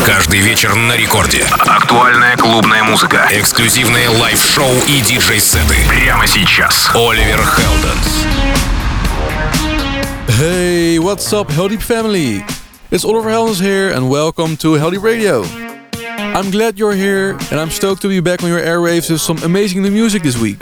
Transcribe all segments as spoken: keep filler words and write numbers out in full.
Каждый вечер на рекорде. Актуальная клубная музыка. Эксклюзивные лайв-шоу и диджей-сеты. Прямо сейчас. Оливер Хелденс. Hey, what's up, Heldeep family? It's Oliver Heldens here, and welcome to Heldeep Radio. I'm glad you're here, and I'm stoked to be back on your airwaves with some amazing new music this week.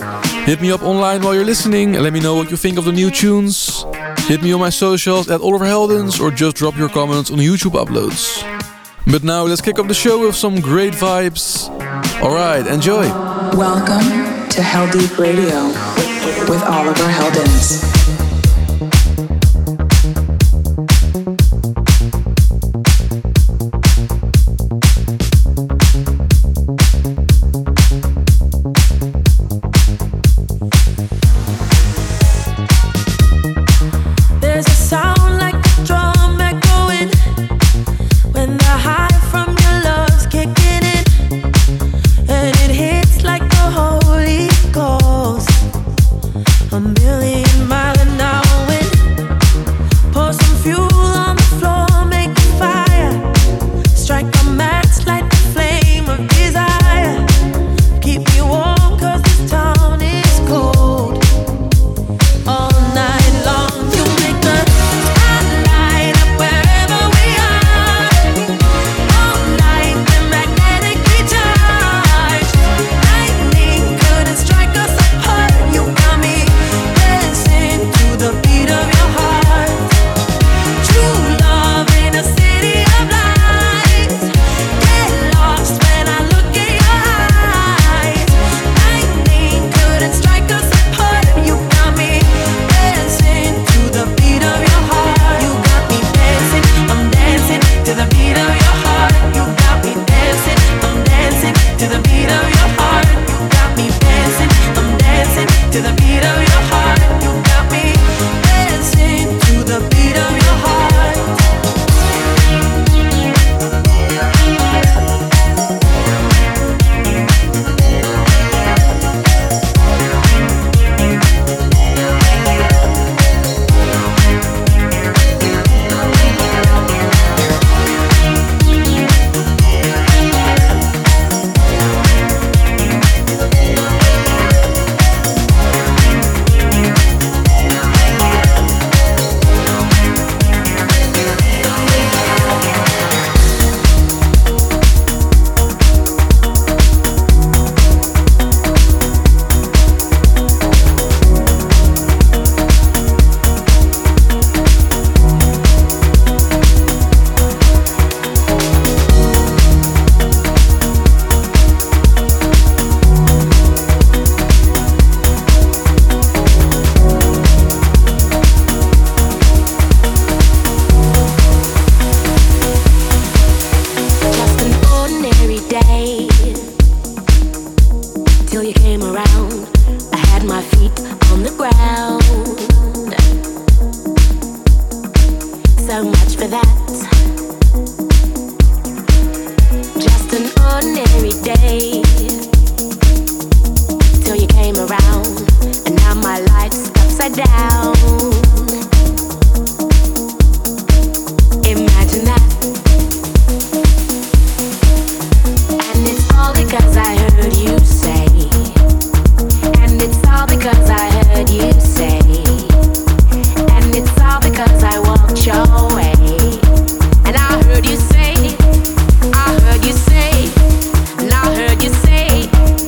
Hit me up online while you're listening and let me know what you think of the new tunes. Hit me on my socials at Oliver Heldens or just drop your comments on YouTube uploads. But now let's kick off the show with some great vibes. Alright, enjoy! Welcome to Heldeep Radio with Oliver Heldens.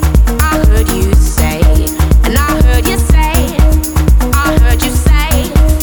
I heard you say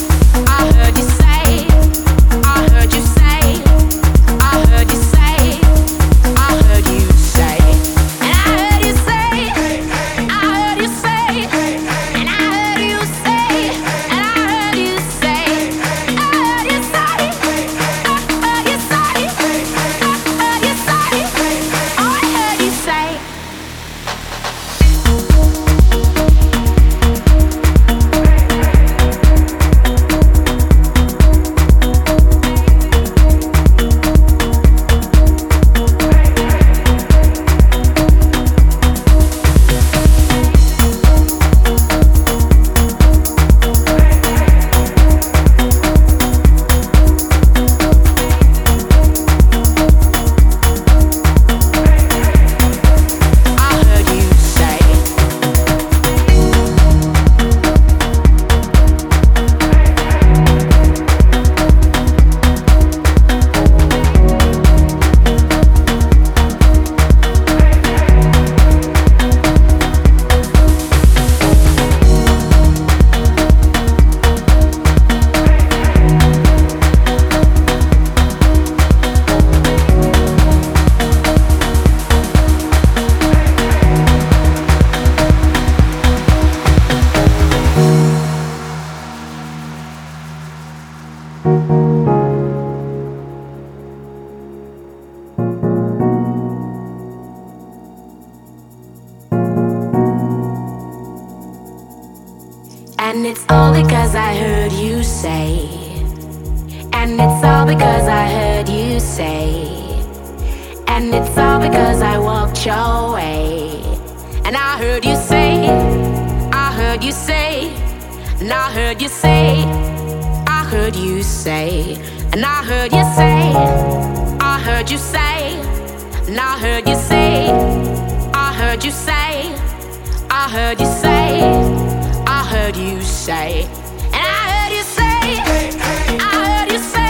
it's all because I heard you say. And it's all because I heard you say. And it's all because I walked your way. And I heard you say, I heard you say, and I heard you say, I heard you say, and I heard you say, I heard you say, and I heard you say, I heard you say, I heard you say, I heard you say, and I heard you say, I heard you say.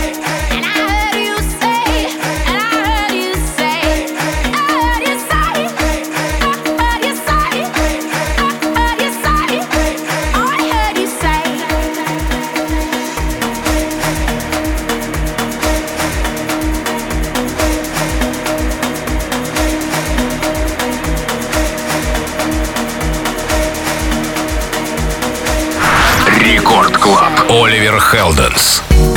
Рекорд Клаб. Оливер Хелденс.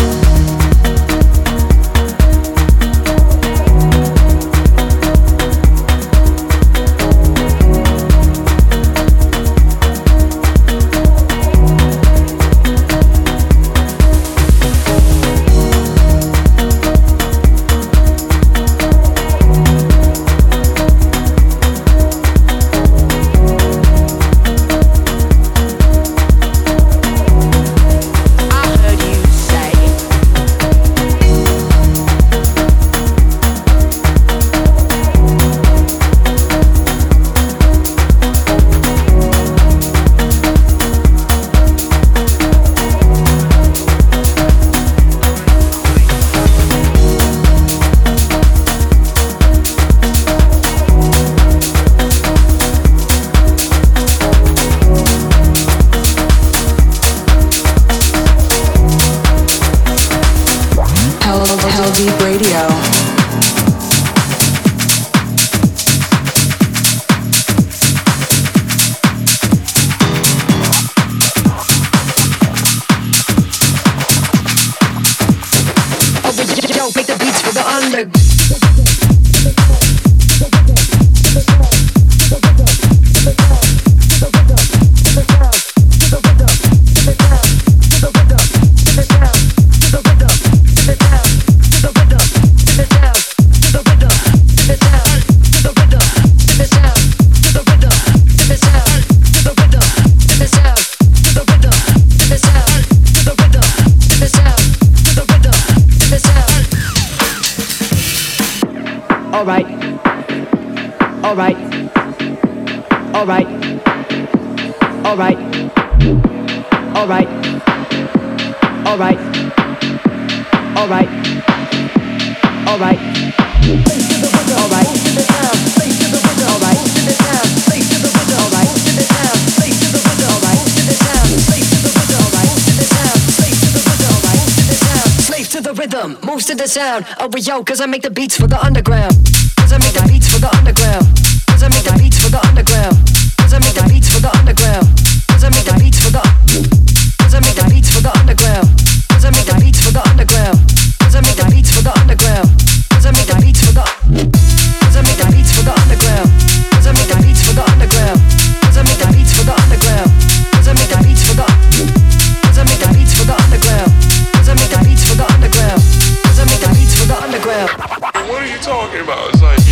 Moves to the sound of a yo, cause I make the beats for the underground. Cause I make the beats for the underground. Cause I make the beats for the underground. Cause I make the beats for the underground. Cause I make the beats for the Cause I make the beats for the underground. Cause I make the beats for the underground. Cause I make the beats for the underground. Cause I make the beats for the Cause I make the beats for the underground. Cause I make the beats for the underground. Cause I make the beats for the underground. Cause I make the beats for the Cause I make the beats for the underground. Cause I make the beats for the underground. Cause I make the beats for the underground. What are you talking about? It's like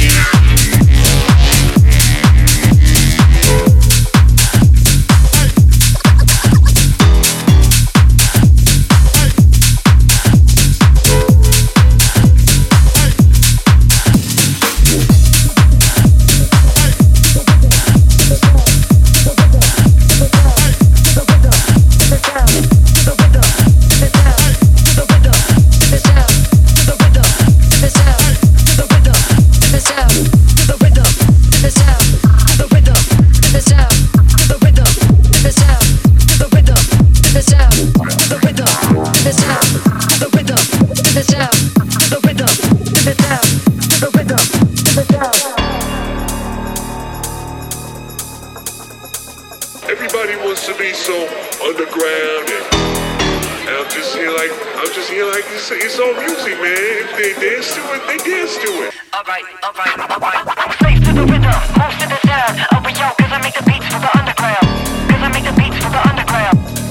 everybody wants to be so underground, and, and I'm just here like I'm just here like it's, it's all music, man. If they dance to it, they dance to it. Alright, alright, alright. Slave to the rhythm, moves to the sound of a yo, cause I make the beats for the underground. Cause I make the beats for the underground.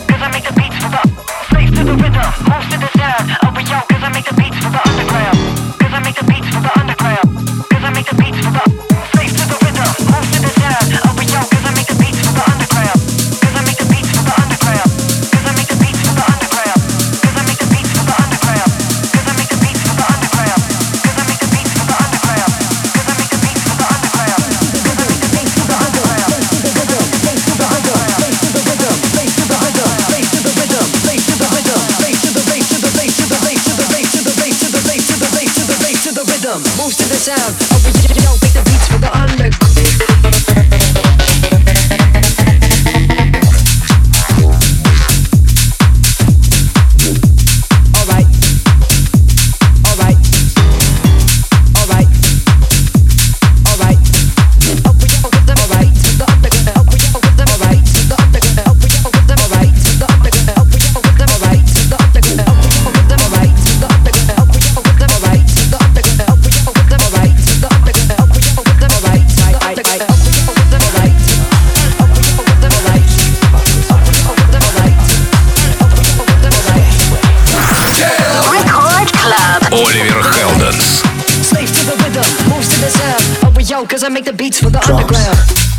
Cause I make the beats for the Drums. Underground.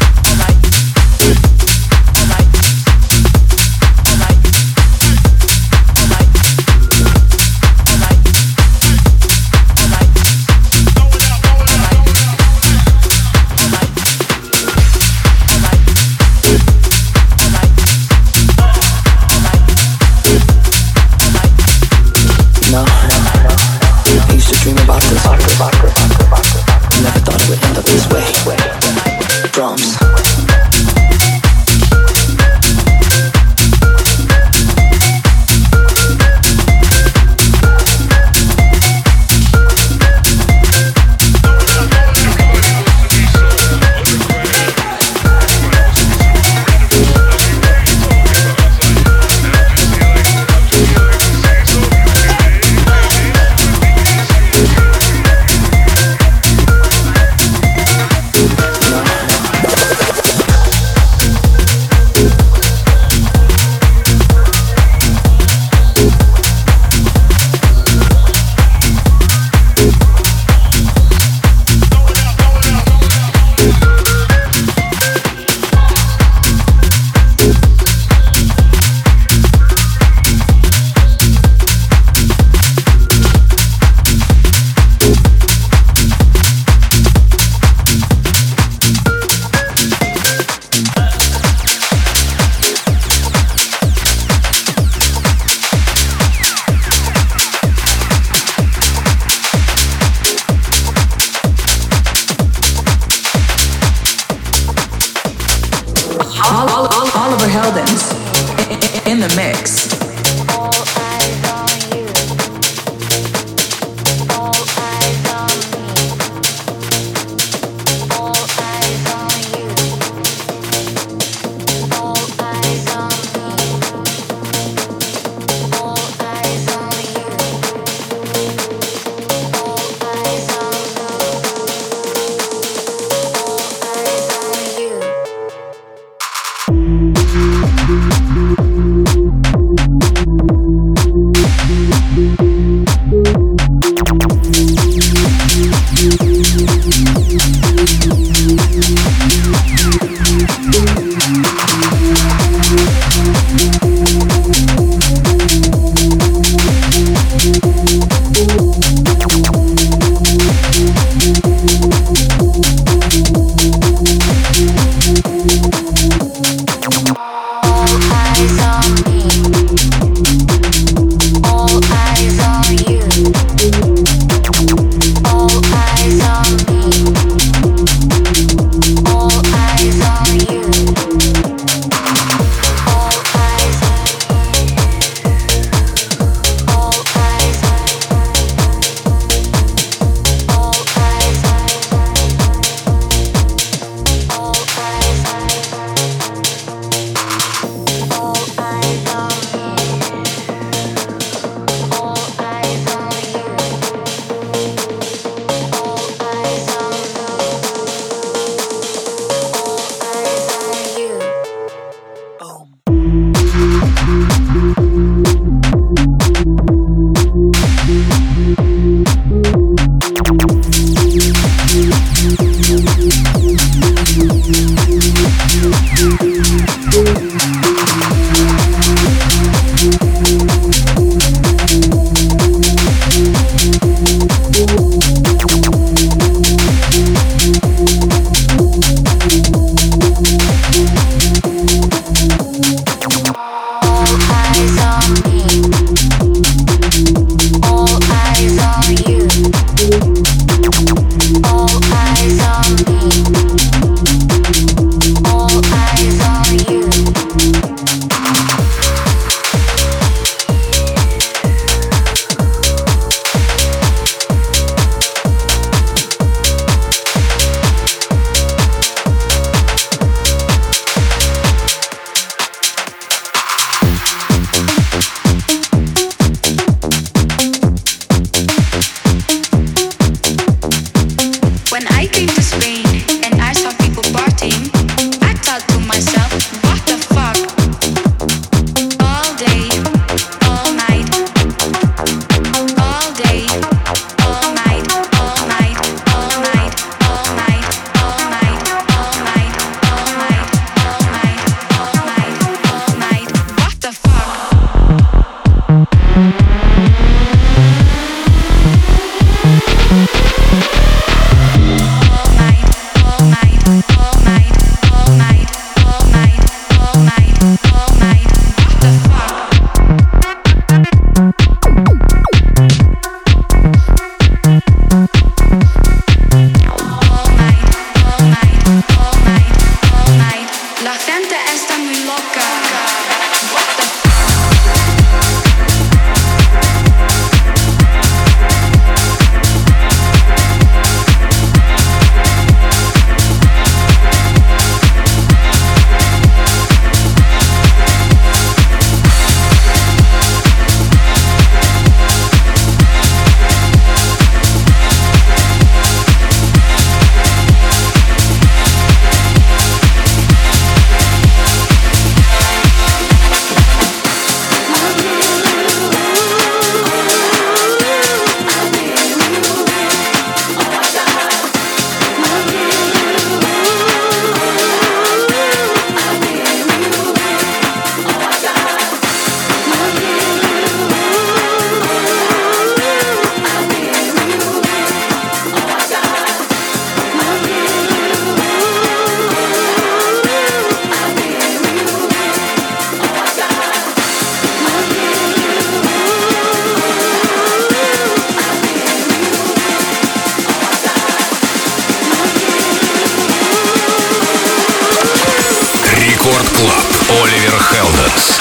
No, no, no. I used to dream about this. Never thought it would end up this way. Drums. Heldens.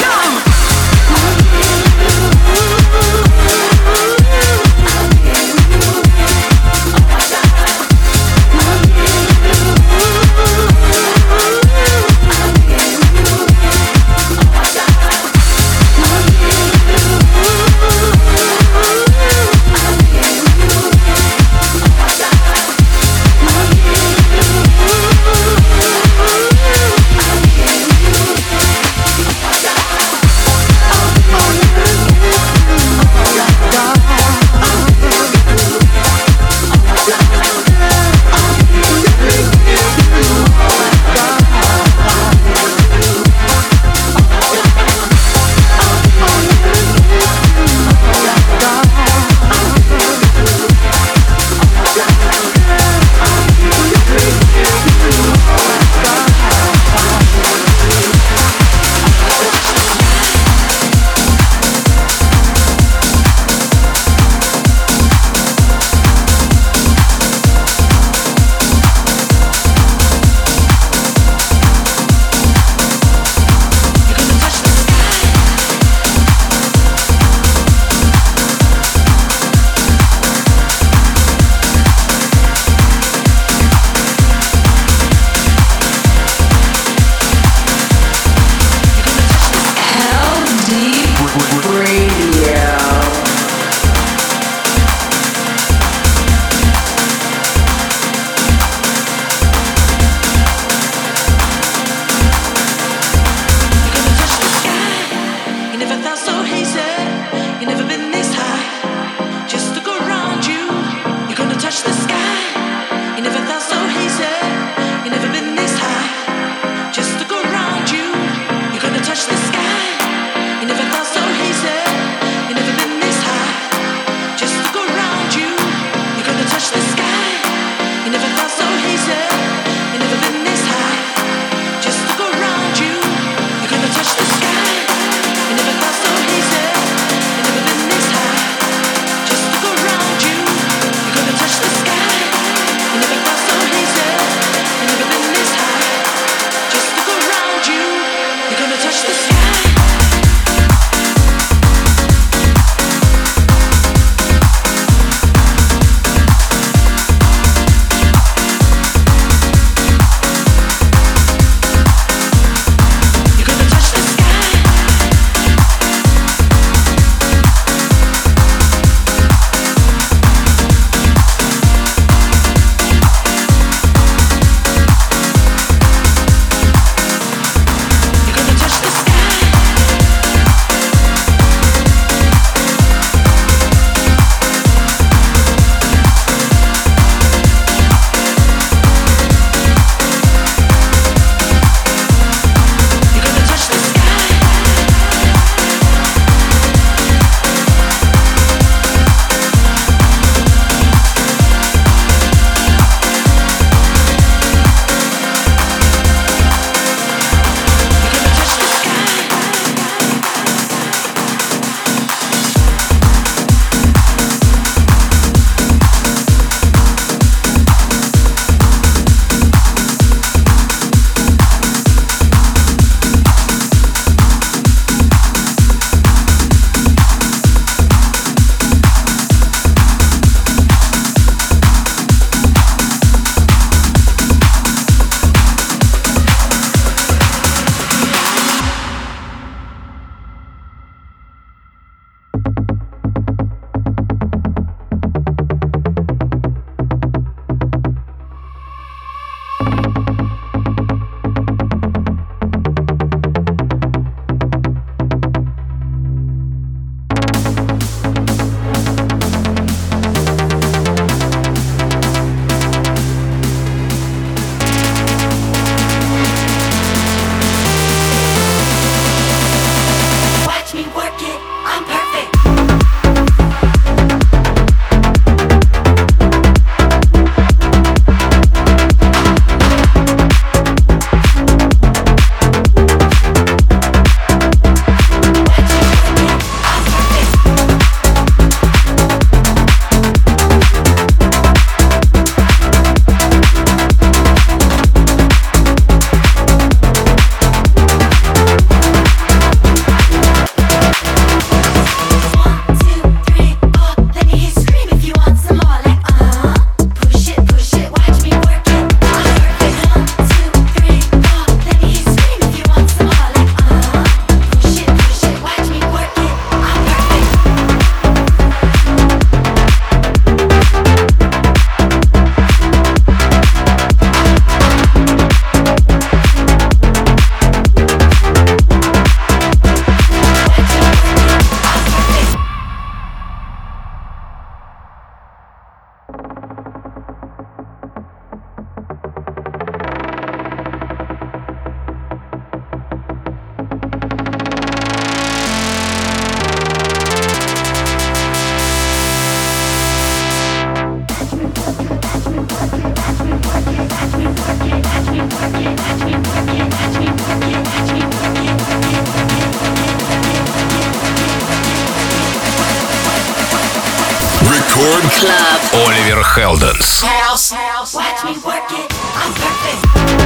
Рекорд Клаб. Оливер Хелденс. House, house, watch me work it. I'm perfect.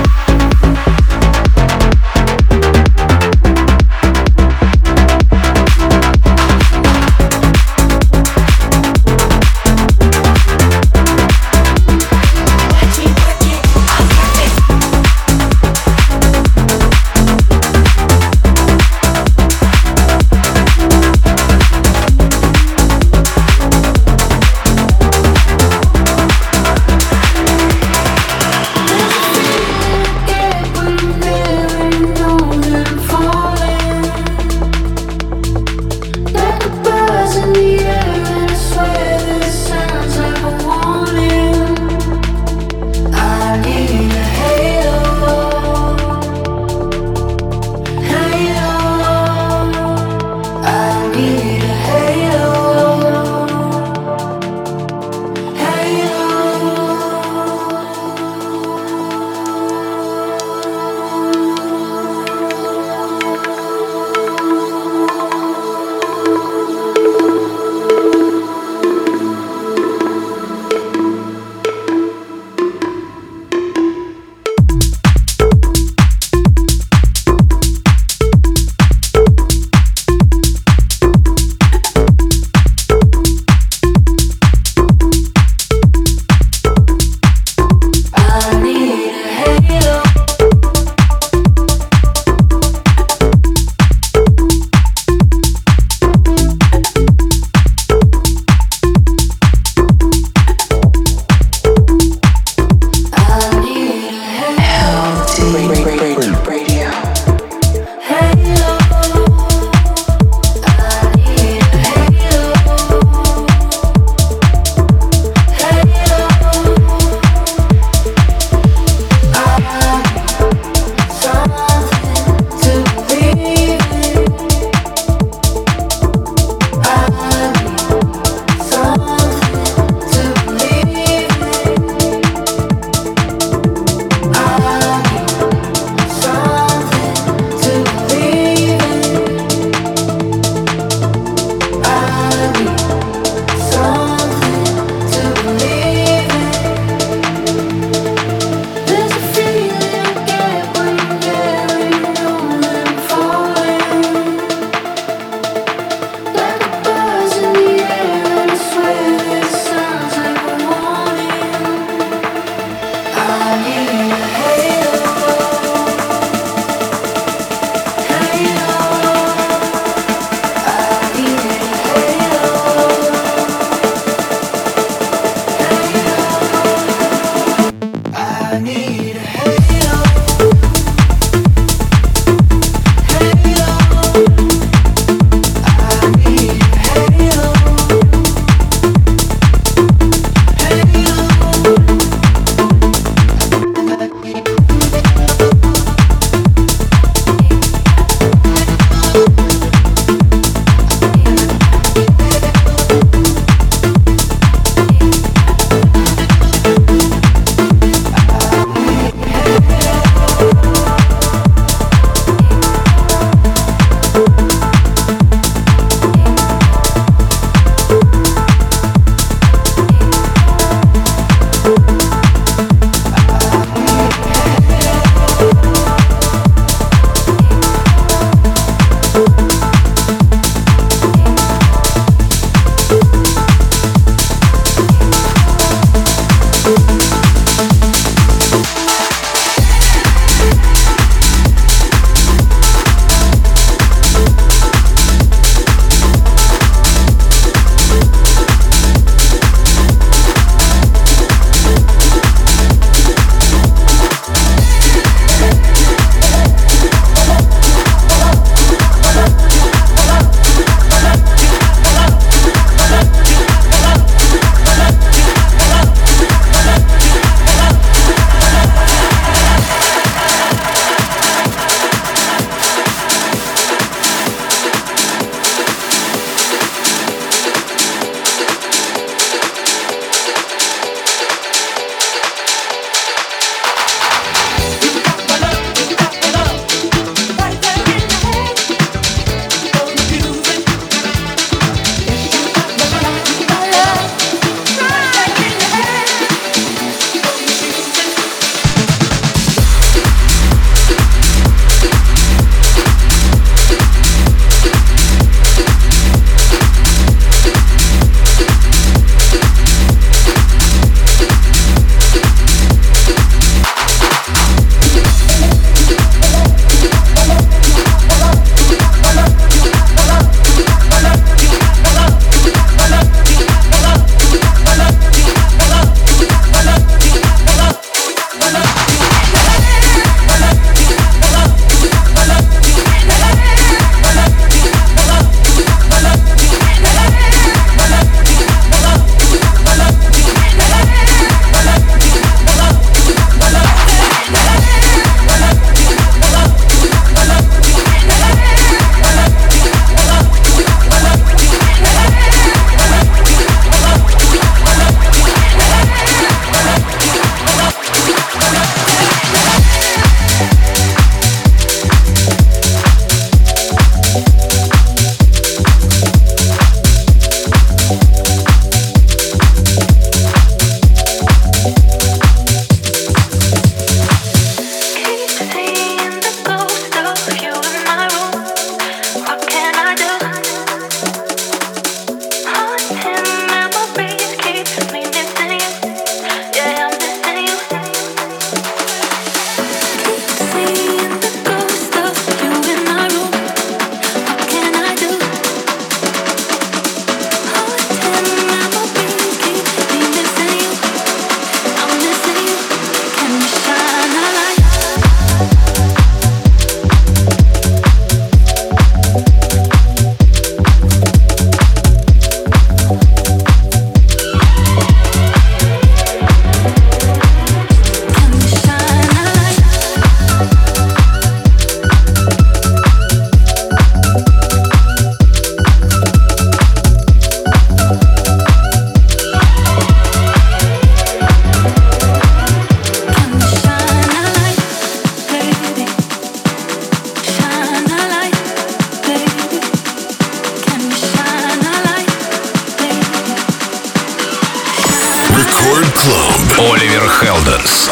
Club. Оливер Хелденс.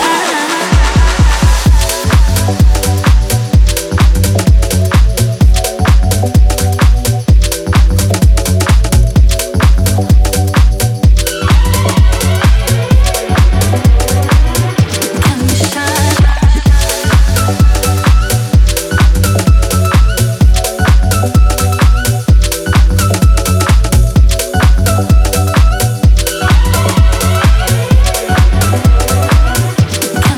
Come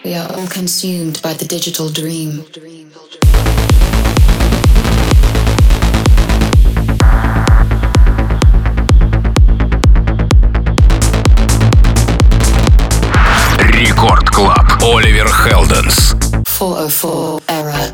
We are all consumed by the digital dream. Рекорд Клаб. Оливер Хелденс. four oh four Era.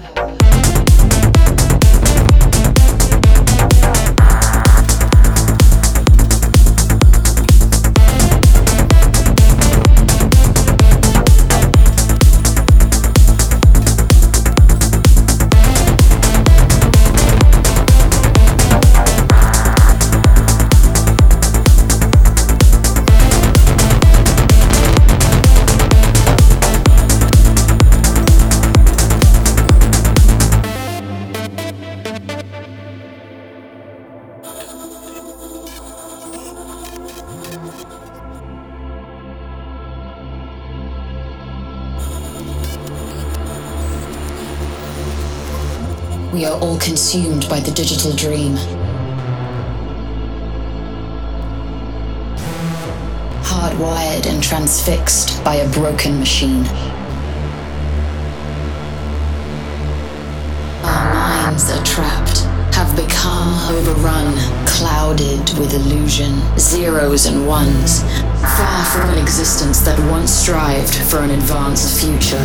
We are all consumed by the digital dream. Hardwired and transfixed by a broken machine. Our minds are trapped, have become overrun, clouded with illusion, zeros and ones, far from an existence that once strived for an advanced future.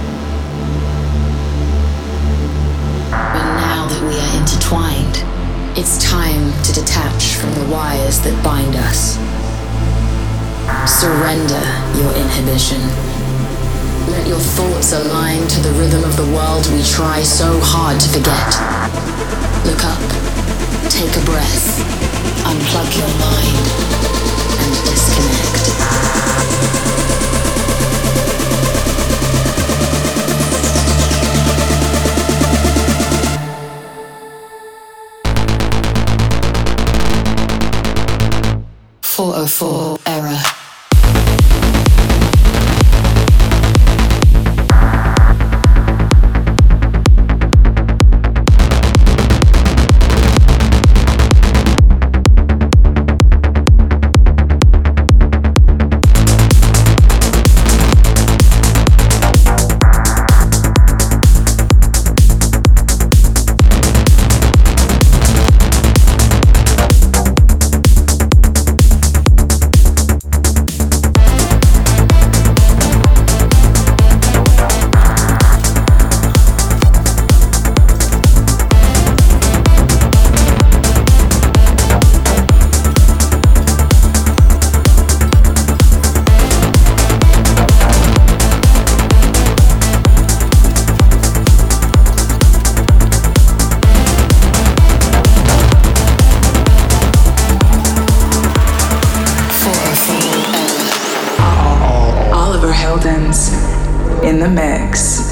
We are intertwined. It's time to detach from the wires that bind us. Surrender your inhibition. Let your thoughts align to the rhythm of the world we try so hard to forget. Look up, take a breath, unplug your mind, and disconnect. four oh four Era. In the mix.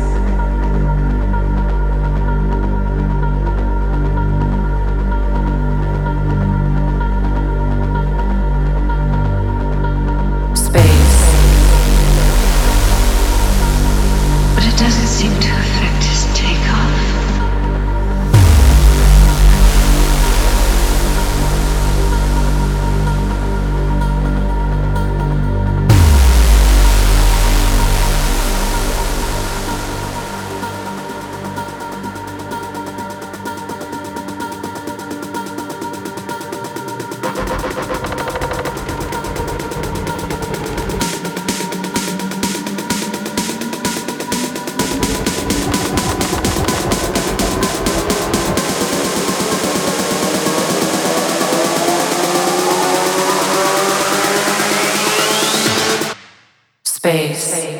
Space.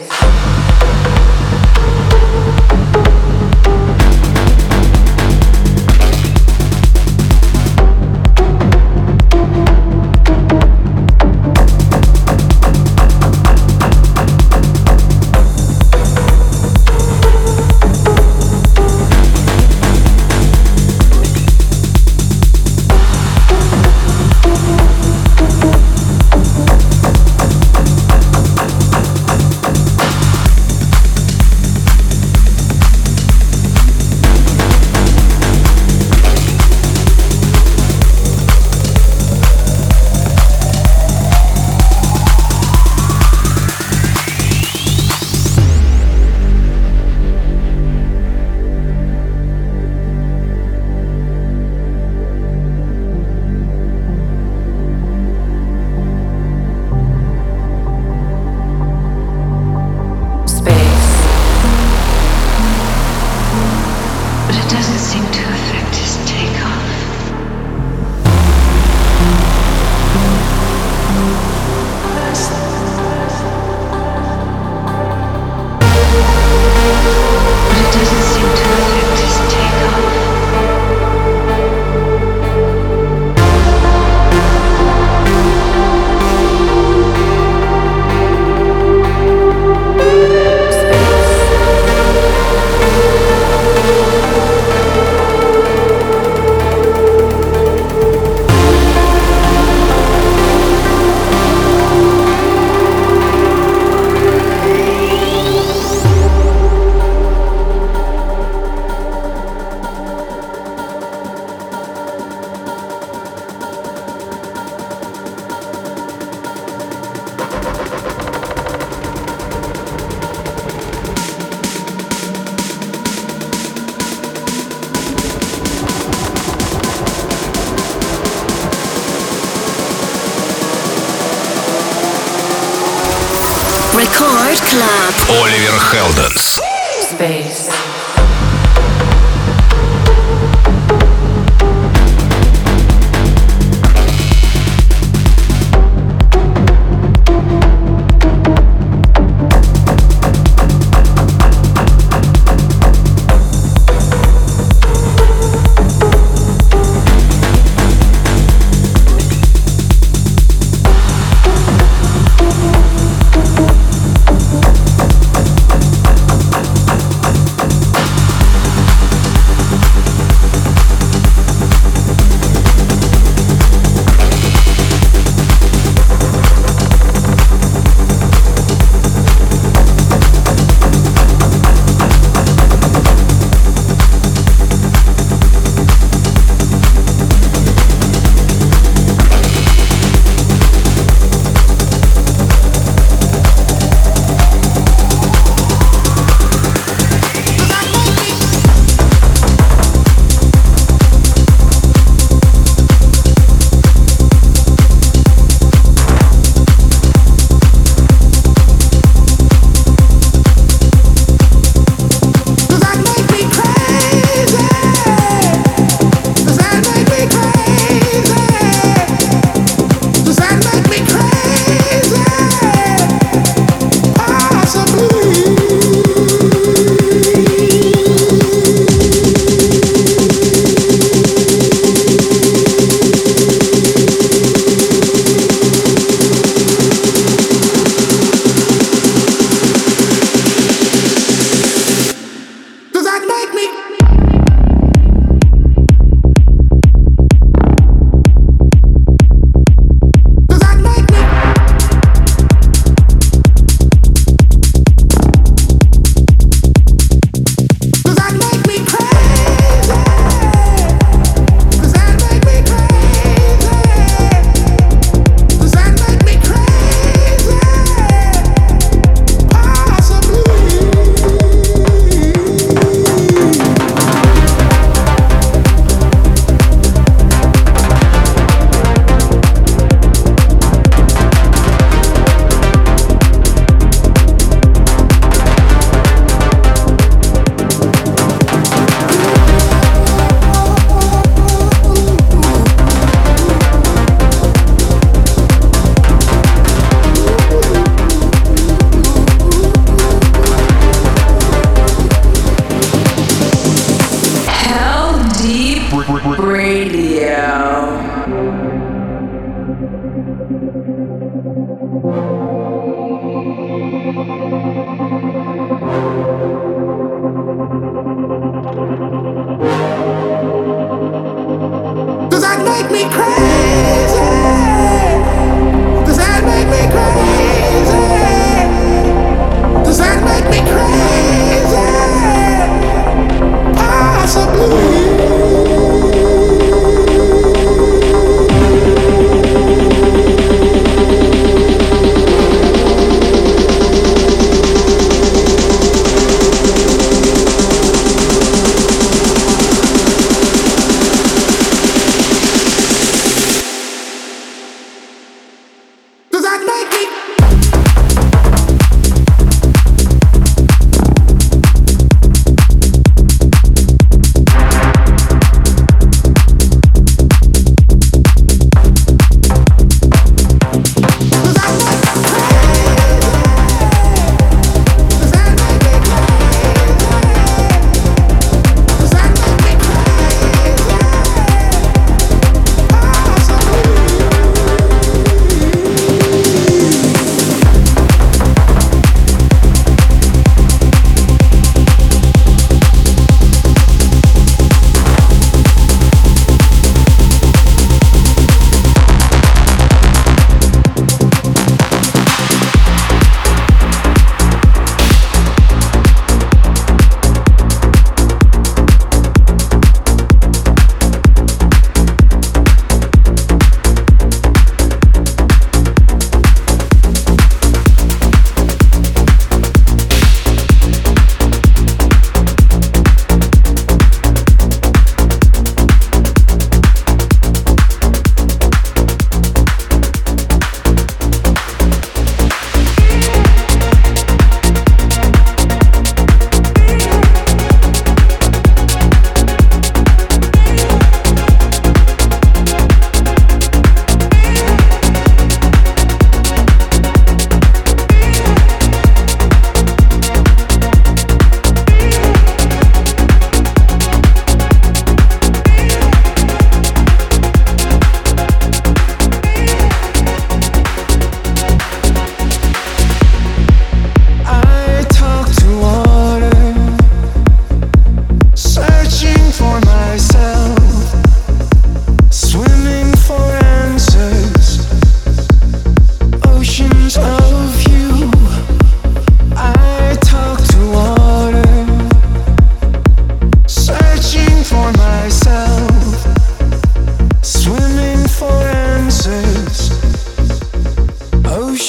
Record Club. Оливер Хелденс. Space.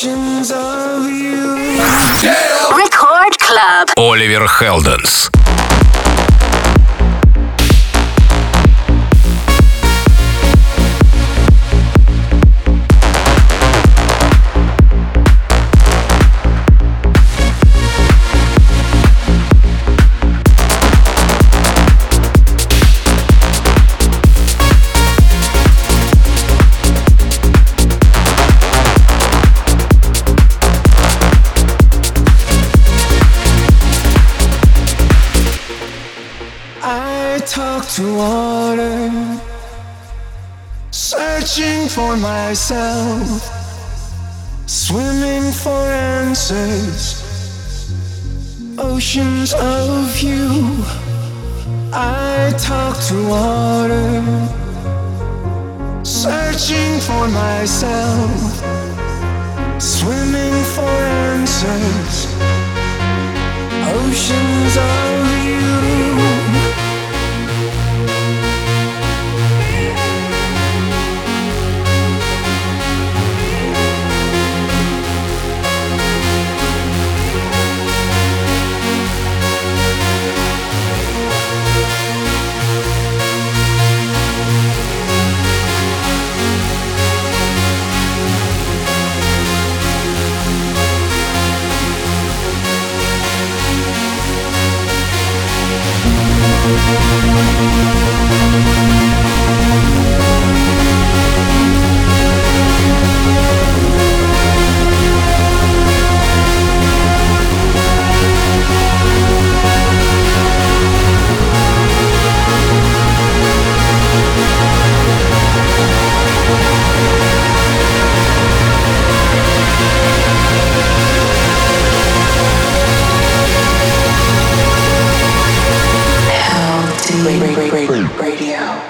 Oceans of you. Record Club. Оливер Хелденс. Talk to water, searching for myself, swimming for answers, oceans of you. I talk to water, searching for myself, swimming for answers, oceans of you. Radio.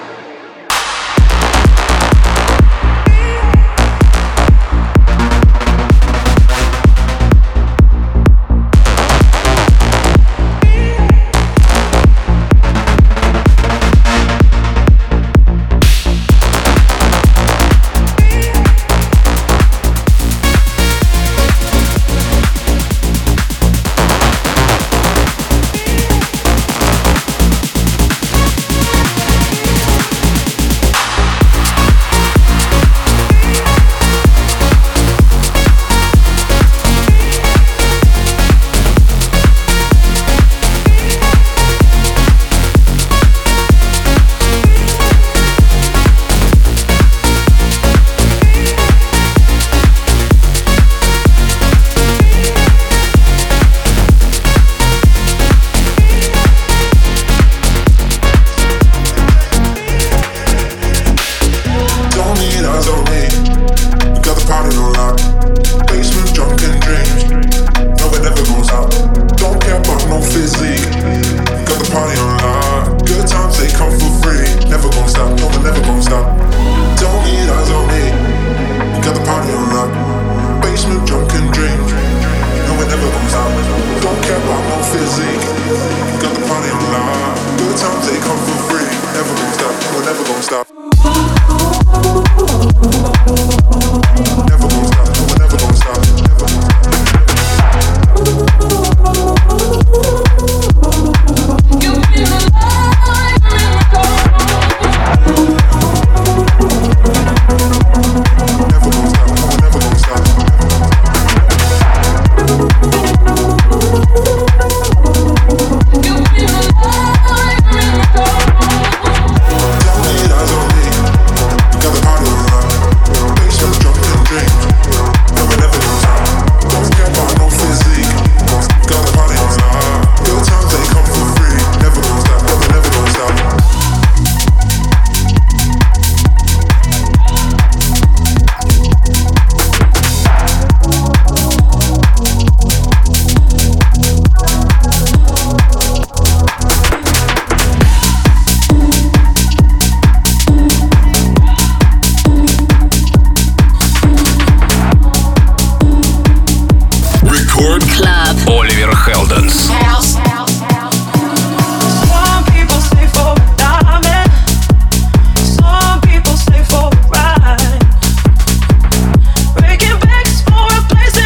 Place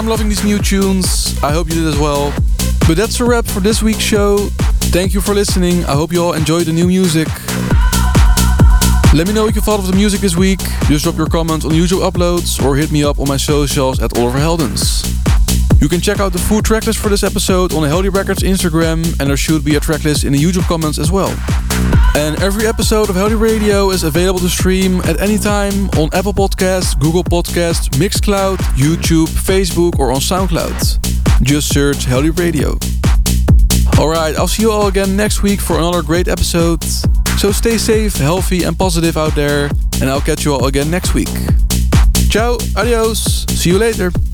I'm loving these new tunes. I hope you did as well. But that's a wrap for this week's show. Thank you for listening. I hope you all enjoyed the new music. Let me know what you thought of the music this week. Just drop your comments on YouTube uploads or hit me up on my socials at Oliver Heldens. You can check out the full tracklist for this episode on the Heldeep Records Instagram, and there should be a tracklist in the YouTube comments as well. And every episode of Heldeep Radio is available to stream at any time on Apple Podcasts, Google Podcasts, Mixcloud, YouTube, Facebook or on SoundCloud. Just search Heldeep Radio. Alright, I'll see you all again next week for another great episode. So stay safe, healthy and positive out there, and I'll catch you all again next week. Ciao, adios, see you later.